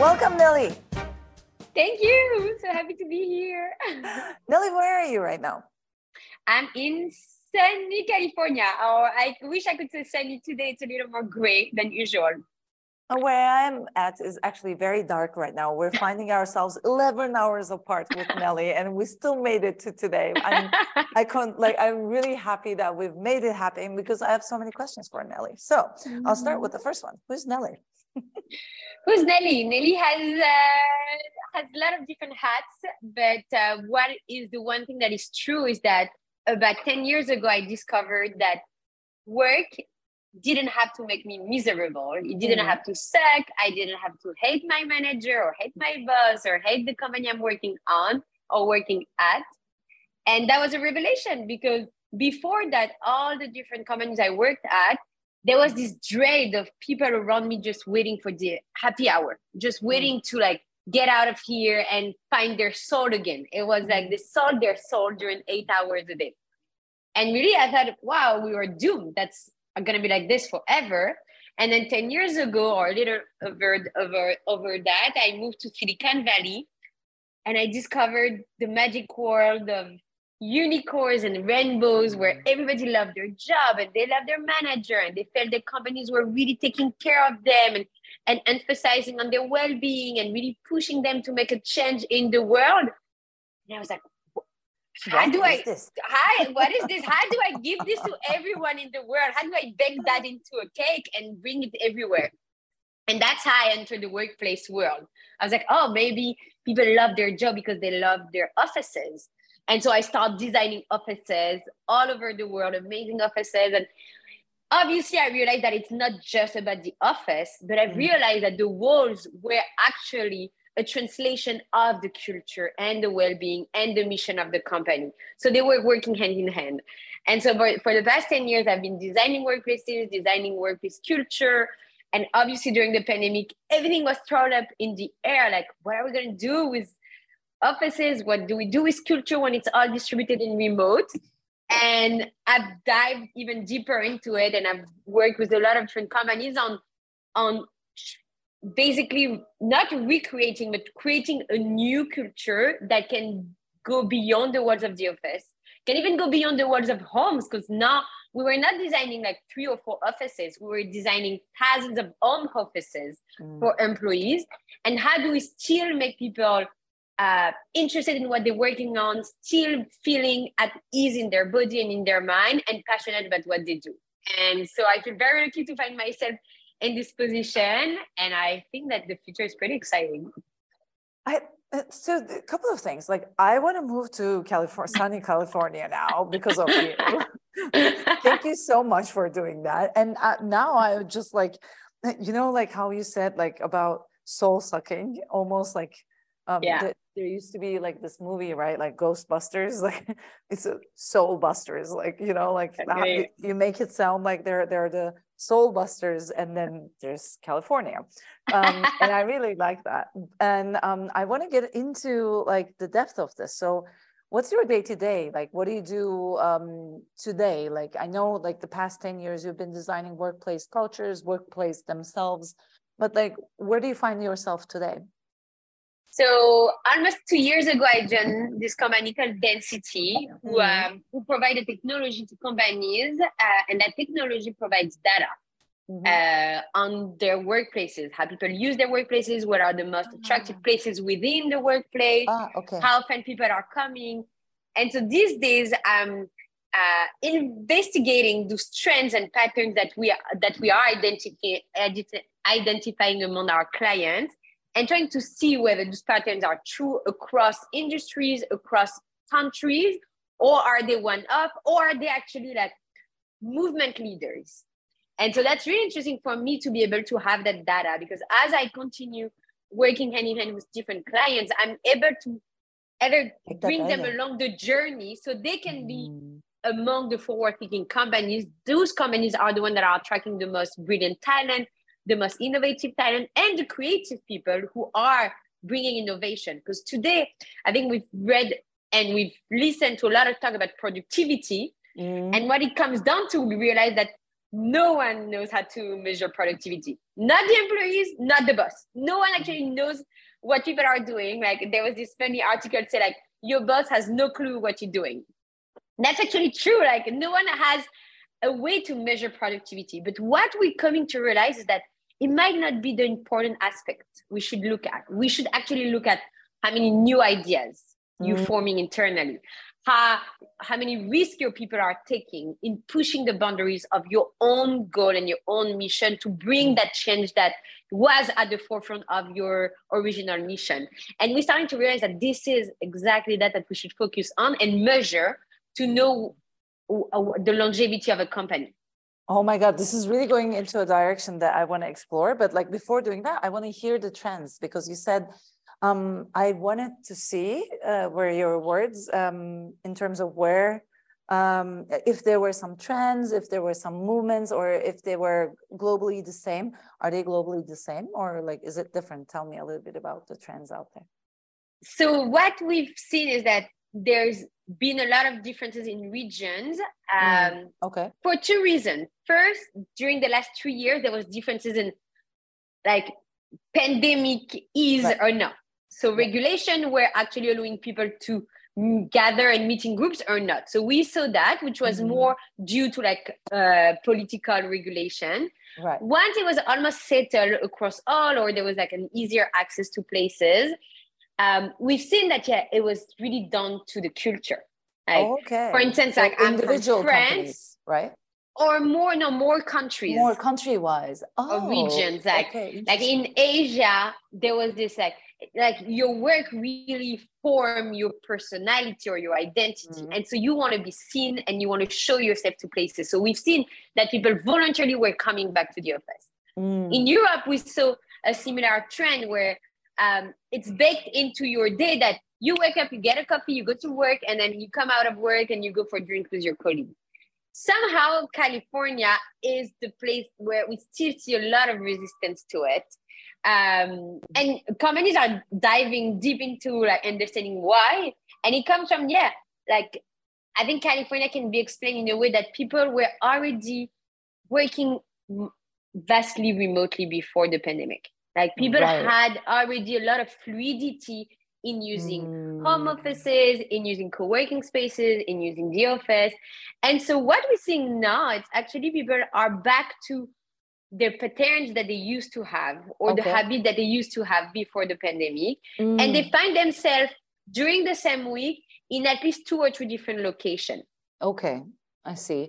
Welcome, Nelly. Thank you. So happy to be here. Nelly, where are you right now? I'm in sunny California, or I wish I could say sunny today. It's a little more gray than usual. Where I'm at is actually very dark right now. We're finding ourselves 11 hours apart with Nelly, and we still made it to today. I'm really happy that we've made it happen because I have so many questions for Nelly. So I'll start with the first one. Who's Nelly? Who's Nelly? Nelly has a lot of different hats, but what is the one thing that is true is that about 10 years ago, I discovered that work didn't have to make me miserable. It didn't have to suck. I didn't have to hate my manager or hate my boss or hate the company I'm working on or working at. And that was a revelation because before that, all the different companies I worked at, there was this dread of people around me just waiting for the happy hour, just waiting to get out of here and find their soul again. It was like they sold their soul during 8 hours a day. And really, I thought, wow, we were doomed. That's going to be like this forever. And then 10 years ago, or a little over that, I moved to Silicon Valley and I discovered the magic world of unicorns and rainbows where everybody loved their job and they loved their manager and they felt the companies were really taking care of them and emphasizing on their well-being and really pushing them to make a change in the world. And I was like, what is this? How do I give this to everyone in the world? How do I bake that into a cake and bring it everywhere? And that's how I entered the workplace world. I was like, oh, maybe people love their job because they love their offices. And so I started designing offices all over the world, amazing offices. And obviously I realized that it's not just about the office, but I realized that the walls were actually a translation of the culture and the well-being and the mission of the company. So they were working hand in hand. And so for the past 10 years, I've been designing workplaces, designing workplace culture. And obviously during the pandemic, everything was thrown up in the air. Like, what are we going to do with offices? What do we do with culture when it's all distributed in remote? And I've dived even deeper into it. And I've worked with a lot of different companies on basically not recreating, but creating a new culture that can go beyond the walls of the office, can even go beyond the walls of homes, because now we were not designing like 3 or 4 offices. We were designing thousands of home offices for employees. And how do we still make people interested in what they're working on, still feeling at ease in their body and in their mind and passionate about what they do? And so I feel very lucky to find myself in this position, and I think that the future is pretty exciting. So a couple of things. Like, I want to move to sunny California now because of you. Thank you so much for doing that. And now I just like how you said like about soul sucking, almost like there used to be like this movie, right? Like Ghostbusters, like it's a Soul Busters, like, you make it sound like they're the Soul Busters, and then there's California. And I really like that. And I want to get into like the depth of this. So what's your day to day? Like, what do you do today? Like, I know like the past 10 years you've been designing workplace cultures, workplace themselves, but like, where do you find yourself today? So almost 2 years ago, I joined this company called Density, who provided technology to companies, and that technology provides data on their workplaces, how people use their workplaces, what are the most attractive places within the workplace, how often people are coming. And so these days, I'm investigating those trends and patterns that we are identifying among our clients, and trying to see whether these patterns are true across industries, across countries, or are they one-off, or are they actually like movement leaders? And so that's really interesting for me to be able to have that data, because as I continue working hand in hand with different clients, I'm able to either bring them along the journey so they can be among the forward-thinking companies. Those companies are the ones that are attracting the most brilliant talent, the most innovative talent, and the creative people who are bringing innovation. Because today, I think we've read and we've listened to a lot of talk about productivity. And what it comes down to, we realize that no one knows how to measure productivity. Not the employees, not the boss. No one actually knows what people are doing. Like there was this funny article say like, your boss has no clue what you're doing. That's actually true. Like no one has a way to measure productivity. But what we're coming to realize is that it might not be the important aspect we should look at. We should actually look at how many new ideas you're forming internally, how many risks your people are taking in pushing the boundaries of your own goal and your own mission to bring that change that was at the forefront of your original mission. And we're starting to realize that this is exactly that we should focus on and measure to know the longevity of a company. Oh my God, this is really going into a direction that I want to explore. But like before doing that, I want to hear the trends, because you said, I wanted to see where your words in terms of where, if there were some trends, if there were some movements, or if they were globally the same. Are they globally the same, or like, is it different? Tell me a little bit about the trends out there. So what we've seen is that there's been a lot of differences in regions okay. For two reasons. First, during the last 3 years, there was differences in like pandemic is or not. So regulation were actually allowing people to gather and meet in groups or not. So we saw that, which was more due to like political regulation. Right. Once it was almost settled across all, or there was like an easier access to places, we've seen that it was really down to the culture. Like, for instance, so like individual I'm from France, companies, right? Or more countries, more country-wise, or regions. Like in Asia, there was this like your work really form your personality or your identity, and so you want to be seen and you want to show yourself to places. So we've seen that people voluntarily were coming back to the office. In Europe, we saw a similar trend where it's baked into your day that you wake up, you get a coffee, you go to work, and then you come out of work and you go for a drink with your colleague. Somehow California is the place where we still see a lot of resistance to it. And companies are diving deep into like understanding why. And it comes from, like I think California can be explained in a way that people were already working vastly remotely before the pandemic. Like people had already a lot of fluidity in using home offices, in using co-working spaces, in using the office. And so what we're seeing now, it's actually people are back to their patterns that they used to have, or the habit that they used to have before the pandemic. And they find themselves during the same week in at least 2 or 3 different locations. Okay, I see.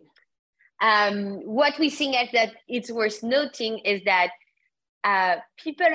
What we're seeing is that it's worth noting is that people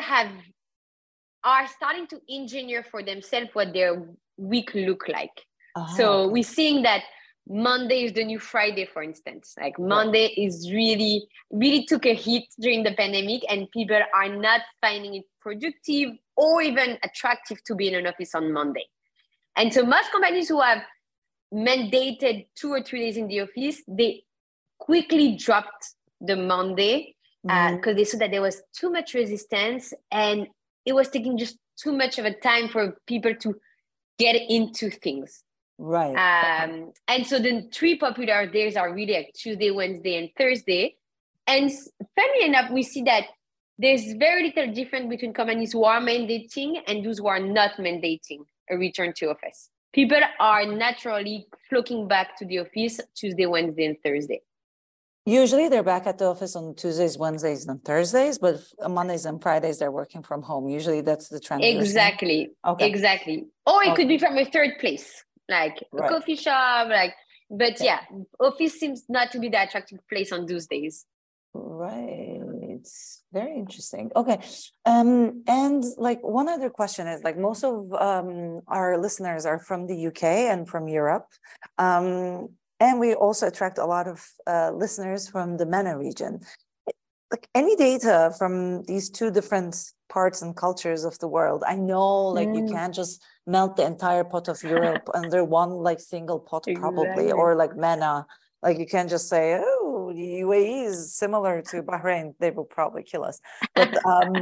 are starting to engineer for themselves what their week look like. So we're seeing that Monday is the new Friday, for instance. Like Monday is really took a hit during the pandemic, and people are not finding it productive or even attractive to be in an office on Monday. And so most companies who have mandated 2 or 3 days in the office, they quickly dropped the Monday because they saw that there was too much resistance and it was taking just too much of a time for people to get into things. Right. And so the 3 popular days are really like Tuesday, Wednesday, and Thursday. And funny enough, we see that there's very little difference between companies who are mandating and those who are not mandating a return to office. People are naturally flocking back to the office Tuesday, Wednesday, and Thursday. Usually they're back at the office on Tuesdays, Wednesdays, and Thursdays, but Mondays and Fridays they're working from home. Usually that's the trend. Exactly. Exactly. Or it could be from a third place, like a coffee shop, but office seems not to be the attractive place on those days. Right. It's very interesting. Okay. And like one other question is, like, most of our listeners are from the UK and from Europe. And we also attract a lot of listeners from the MENA region. Like, any data from these 2 different parts and cultures of the world? I know, like, you can't just melt the entire pot of Europe under one, like, single pot, probably, or like MENA. Like, you can't just say, oh, the UAE is similar to Bahrain. They will probably kill us. But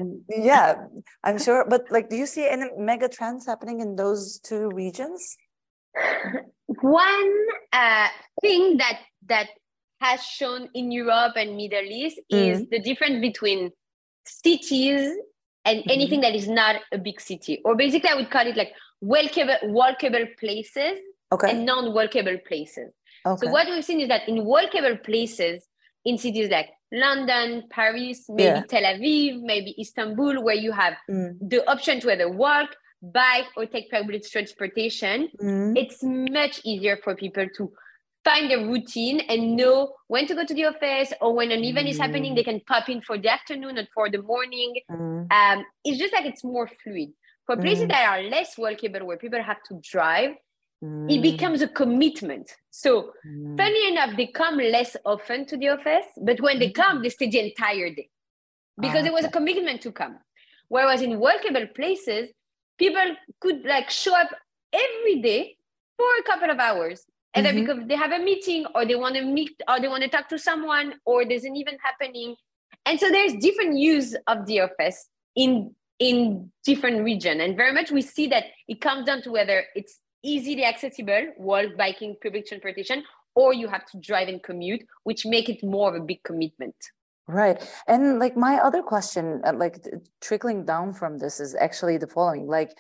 I'm sure. But like, do you see any mega trends happening in those 2 regions? One thing that has shown in Europe and Middle East is the difference between cities and anything that is not a big city. Or basically, I would call it like walkable places and non-walkable places. Okay. So what we've seen is that in walkable places, in cities like London, Paris, maybe Tel Aviv, maybe Istanbul, where you have the option to either walk, bike, or take public transportation, it's much easier for people to find a routine and know when to go to the office, or when an event is happening, they can pop in for the afternoon or for the morning. It's just like it's more fluid. For places that are less walkable, where people have to drive, it becomes a commitment. So funny enough, they come less often to the office, but when they come, they stay the entire day because it was a commitment to come. Whereas in walkable places, people could like show up every day for a couple of hours, either because they have a meeting, or they want to meet, or they want to talk to someone, or there's an event happening. And so there's different use of the office in different regions. And very much we see that it comes down to whether it's easily accessible, walk, biking, public transportation, or you have to drive and commute, which make it more of a big commitment. Right. And like my other question, like trickling down from this, is actually the following. Like,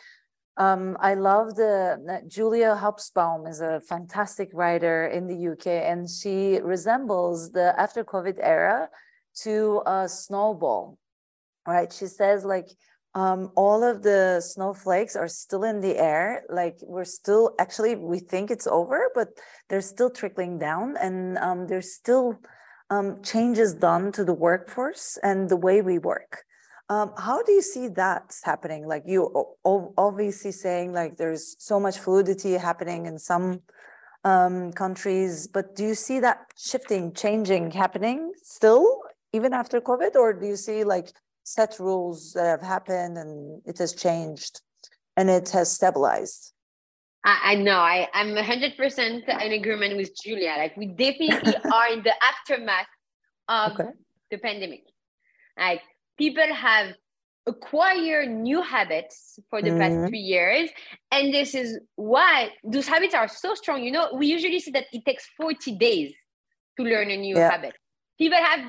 I love Julia Hobsbawm is a fantastic writer in the UK, and she resembles the after COVID era to a snowball, right? She says like, all of the snowflakes are still in the air. Like we're still, actually, we think it's over, but they're still trickling down, and there's still changes done to the workforce and the way we work. How do you see that happening? Like you obviously saying like there's so much fluidity happening in some countries, but do you see that shifting, changing, happening still even after COVID, or do you see like set rules that have happened and it has changed and it has stabilized? I know. I'm 100% in agreement with Julia. Like we definitely are in the aftermath of the pandemic. Like people have acquired new habits for the past 3 years. And this is why those habits are so strong. You know, we usually see that it takes 40 days to learn a new habit. People have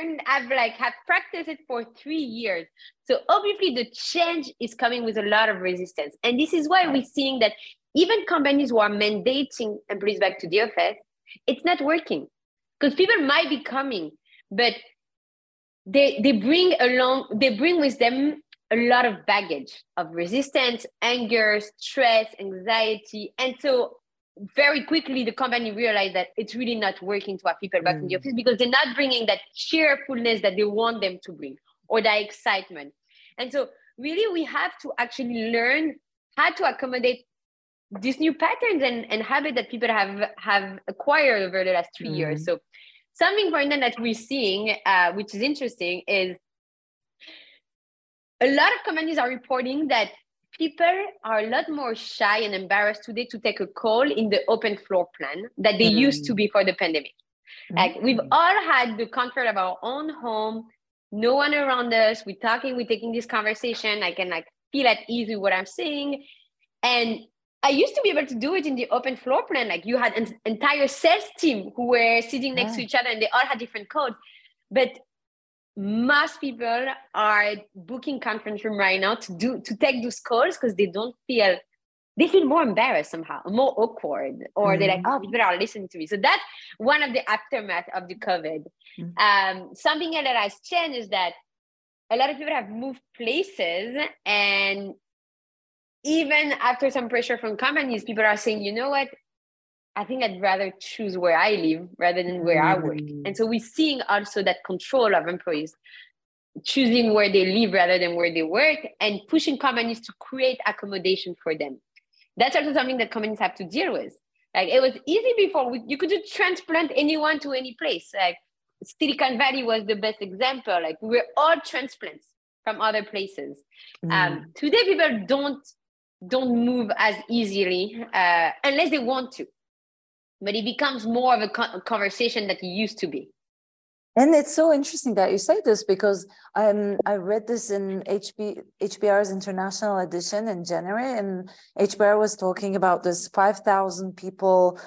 practiced it for 3 years. So obviously the change is coming with a lot of resistance. And this is why we're seeing that even companies who are mandating employees back to the office, it's not working. Because people might be coming, but they bring with them a lot of baggage of resistance, anger, stress, anxiety. And so very quickly, the company realized that it's really not working to have people back in the office because they're not bringing that cheerfulness that they want them to bring, or that excitement. And so really, we have to actually learn how to accommodate these new patterns and habits that people have acquired over the last 3 years. So something important that we're seeing, which is interesting, is a lot of companies are reporting that people are a lot more shy and embarrassed today to take a call in the open floor plan that they used to before the pandemic. Like we've all had the comfort of our own home, no one around us. We're taking this conversation. I can feel at ease with what I'm saying. And I used to be able to do it in the open floor plan. Like you had an entire sales team who were sitting next to each other and they all had different codes. But most people are booking conference room right now to take those calls because they feel more embarrassed somehow, more awkward, or they're like, oh, people are listening to me. So that's one of the aftermath of the COVID. Something else that has changed is that a lot of people have moved places, and even after some pressure from companies, people are saying, you know what? I think I'd rather choose where I live rather than where I work. And so we're seeing also that control of employees choosing where they live rather than where they work, and pushing companies to create accommodation for them. That's also something that companies have to deal with. Like it was easy before. You could just transplant anyone to any place. Like Silicon Valley was the best example. Like we were all transplants from other places. Today, people don't move as easily unless they want to. But it becomes more of a conversation that it used to be. And it's so interesting that you say this, because I read this in HBR's international edition in January, and HBR was talking about this 5,000 people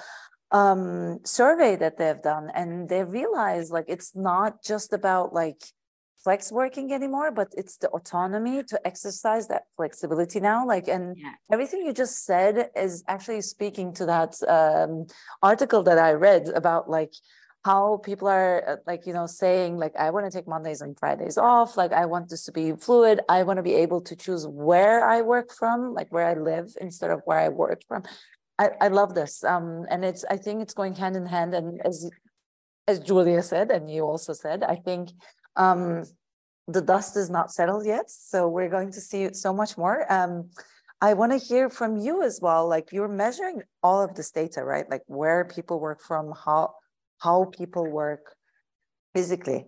survey that they've done, and they realized like it's not just about like flex working anymore, but it's the autonomy to exercise that flexibility now. Like, and everything you just said is actually speaking to that article that I read about like how people are like, you know, saying like, I want to take Mondays and Fridays off. Like, I want this to be fluid. I want to be able to choose where I work from, like where I live instead of where I work from. I love this. And I think it's going hand in hand. And as Julia said, and you also said, I think the dust is not settled yet. So we're going to see so much more. I want to hear from you as well. Like, you're measuring all of this data, right? Like where people work from, how people work physically.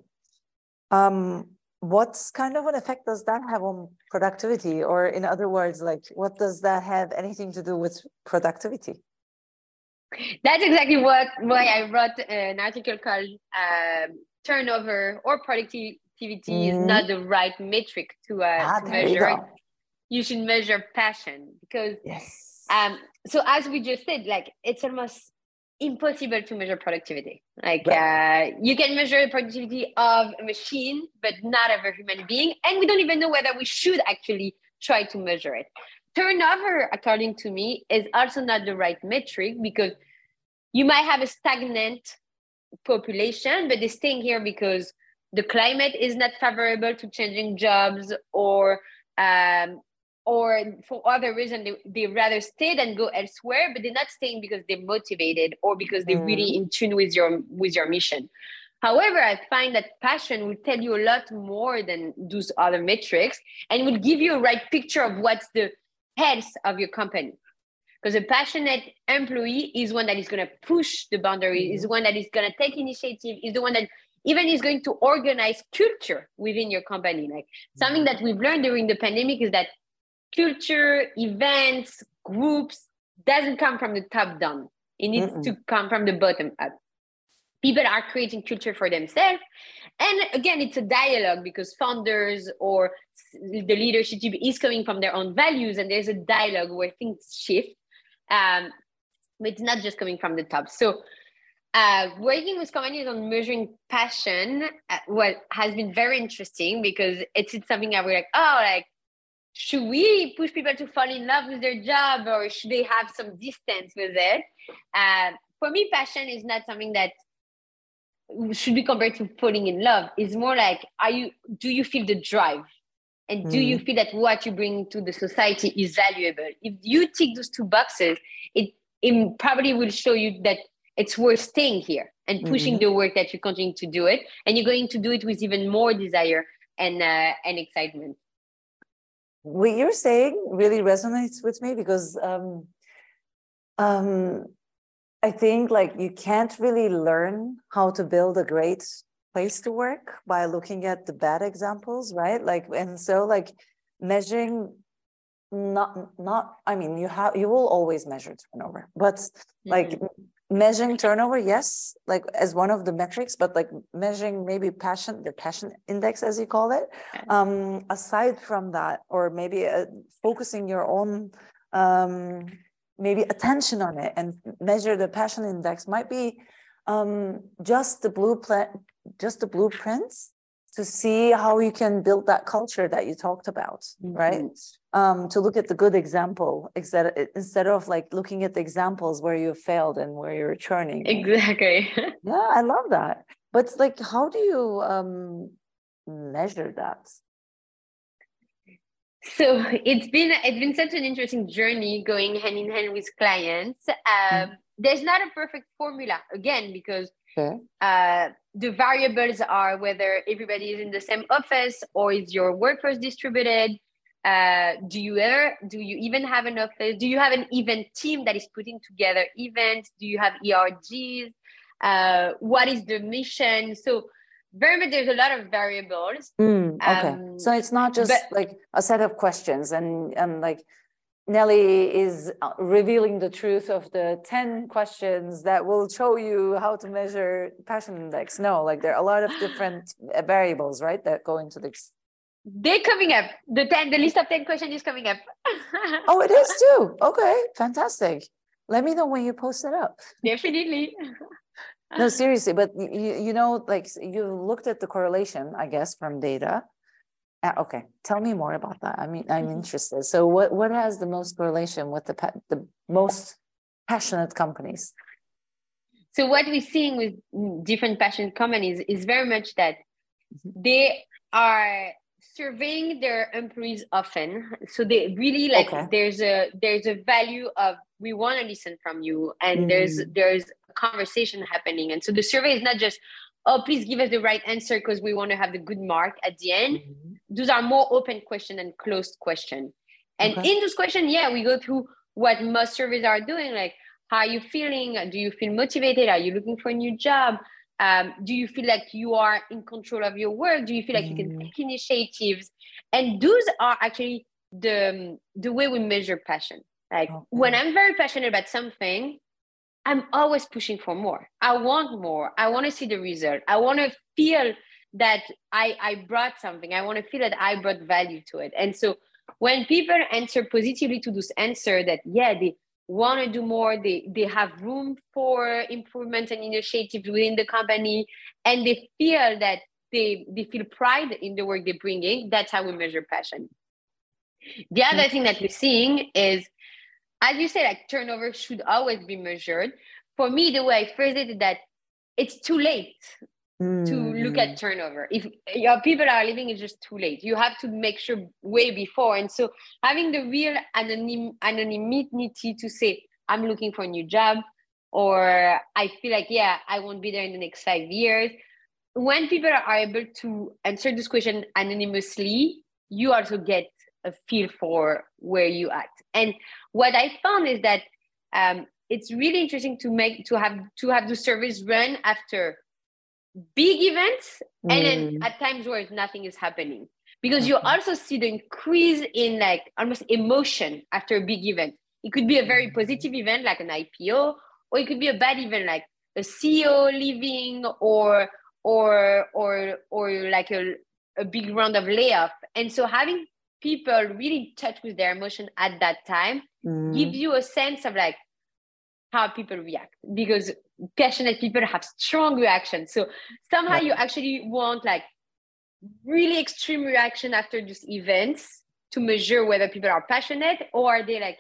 What kind of an effect does that have on productivity? Or in other words, like, what does that have anything to do with productivity? That's exactly why I wrote an article called Turnover or Productivity is not the right metric to measure. You should measure passion, because so as we just said, like, it's almost impossible to measure productivity. Like, you can measure the productivity of a machine, but not of a human being. And we don't even know whether we should actually try to measure it. Turnover, according to me, is also not the right metric, because you might have a stagnant population, but they're staying here because the climate is not favorable to changing jobs, or for other reason they rather stay than go elsewhere, but they're not staying because they're motivated or because they're really in tune with your mission. However, I find that passion will tell you a lot more than those other metrics, and will give you a right picture of what's the health of your company. Because a passionate employee is one that is going to push the boundary, is one that is going to take initiative, is the one that even is going to organize culture within your company. Like, something that we've learned during the pandemic is that culture, events, groups doesn't come from the top down. It needs to come from the bottom up. People are creating culture for themselves. And again, it's a dialogue, because founders or the leadership team is coming from their own values, and there's a dialogue where things shift. But it's not just coming from the top. So working with companies on measuring passion, has been very interesting, because it's something that we're like, should we push people to fall in love with their job, or should they have some distance with it? For me, passion is not something that should be compared to falling in love. It's more like, do you feel the drive? And do you feel that what you bring to the society is valuable? If you tick those two boxes, it probably will show you that it's worth staying here and pushing the work that you continue to do it. And you're going to do it with even more desire and excitement. What you're saying really resonates with me, because I think like you can't really learn how to build a great place to work by looking at the bad examples, right? Like, and so like measuring I mean, you will always measure turnover, but like measuring turnover, yes, like as one of the metrics, but like measuring maybe the passion index, as you call it, aside from that, or maybe focusing your own maybe attention on it and measure the passion index might be just the blueprints to see how you can build that culture that you talked about, right? To look at the good example instead of like looking at the examples where you failed and where you're churning. Exactly. Yeah, I love that. But like, how do you measure that? So it's been such an interesting journey going hand in hand with clients. There's not a perfect formula, again, because the variables are whether everybody is in the same office, or is your workforce distributed? Do you even have an office? Do you have an event team that is putting together events? Do you have ERGs? What is the mission? So very much there's a lot of variables. Okay. So it's not just like a set of questions and like Nelly is revealing the truth of the 10 questions that will show you how to measure passion index. No, like there are a lot of different variables, right, that go into this. They're coming up. The list of 10 questions is coming up. Oh, it is too. Okay, fantastic. Let me know when you post it up. Definitely. No, seriously, but you know, like you looked at the correlation, I guess, from data. Okay, tell me more about that. I mean, I'm interested. So what has the most correlation with the most passionate companies? So what we're seeing with different passionate companies is very much that they are surveying their employees often. So they really like there's a value of we want to listen from you, and there's a conversation happening. And so the survey is not just, oh, please give us the right answer because we want to have the good mark at the end. Those are more open question and closed question. And in those questions, we go through what most surveys are doing, like how are you feeling? Do you feel motivated? Are you looking for a new job? Do you feel like you are in control of your work? Do you feel like you can take initiatives? And those are actually the way we measure passion. Like when I'm very passionate about something, I'm always pushing for more. I want more. I want to see the result. I want to feel that I brought something. I want to feel that I brought value to it. And so when people answer positively to this answer that, they want to do more, they have room for improvement and initiatives within the company, and they feel that they feel pride in the work they're bringing, that's how we measure passion. The other thing that we're seeing is, as you say, like turnover should always be measured. For me, the way I phrase it is that it's too late to look at turnover. If your people are leaving, it's just too late. You have to make sure way before. And so having the real anonymity to say, I'm looking for a new job, or I feel like, I won't be there in the next 5 years. When people are able to answer this question anonymously, you also get a feel for where you at. And what I found is that it's really interesting to have the surveys run after big events and then at times where nothing is happening, because you also see the increase in like almost emotion after a big event. It could be a very positive event like an IPO, or it could be a bad event like a CEO leaving, or like a big round of layoff. And so having people really in touch with their emotion at that time gives you a sense of like how people react, because passionate people have strong reactions. So somehow you actually want like really extreme reaction after these events to measure whether people are passionate, or are they like,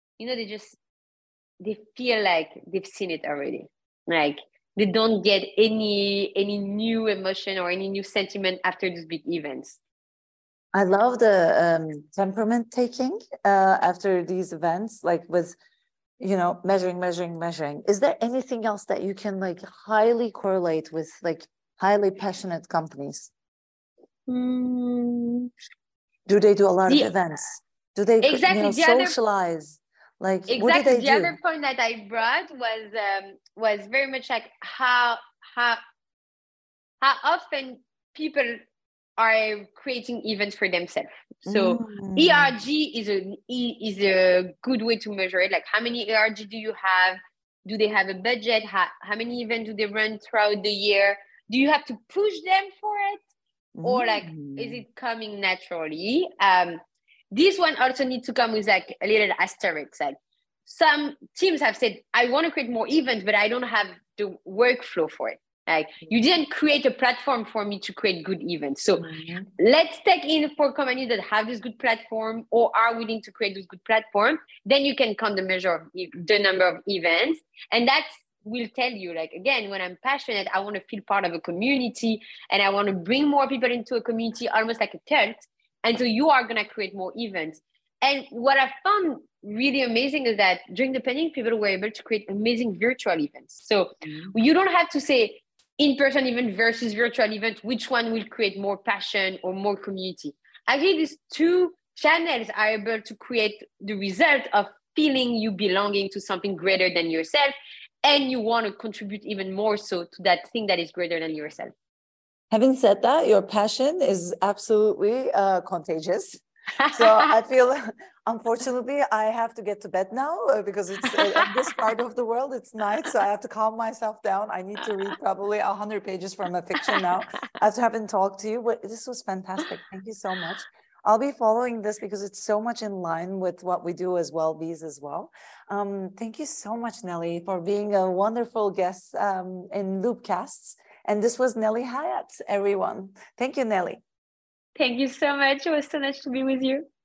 they feel like they've seen it already. Like they don't get any new emotion or any new sentiment after these big events. I love the temperament taking after these events, like with measuring. Is there anything else that you can like highly correlate with like highly passionate companies? Do they do a lot of events? Do they socialize? What do they do? The other point that I brought was very much like how often people are creating events for themselves. So ERG is a good way to measure it. Like how many ERG do you have? Do they have a budget? How many events do they run throughout the year? Do you have to push them for it? Or like, is it coming naturally? This one also needs to come with like a little asterisk. Like some teams have said, I want to create more events, but I don't have the workflow for it. Like you didn't create a platform for me to create good events. So let's take in for companies that have this good platform or are willing to create this good platform. Then you can count the measure of the number of events. And that will tell you, like, again, when I'm passionate, I want to feel part of a community and I want to bring more people into a community, almost like a cult. And so you are going to create more events. And what I found really amazing is that during the pandemic, people were able to create amazing virtual events. So you don't have to say, in-person event versus virtual event, which one will create more passion or more community. Actually, these two channels are able to create the result of feeling you belonging to something greater than yourself, and you want to contribute even more so to that thing that is greater than yourself. Having said that, your passion is absolutely contagious. So I feel, unfortunately, I have to get to bed now because it's in this part of the world, it's night. So I have to calm myself down. I need to read probably 100 pages from a fiction now after having talked to you. But this was fantastic. Thank you so much. I'll be following this because it's so much in line with what we do as Wellbees as well. Thank you so much, Nelly, for being a wonderful guest in Loopcasts. And this was Nelly Hyatt, everyone. Thank you, Nelly. Thank you so much. It was so nice to be with you.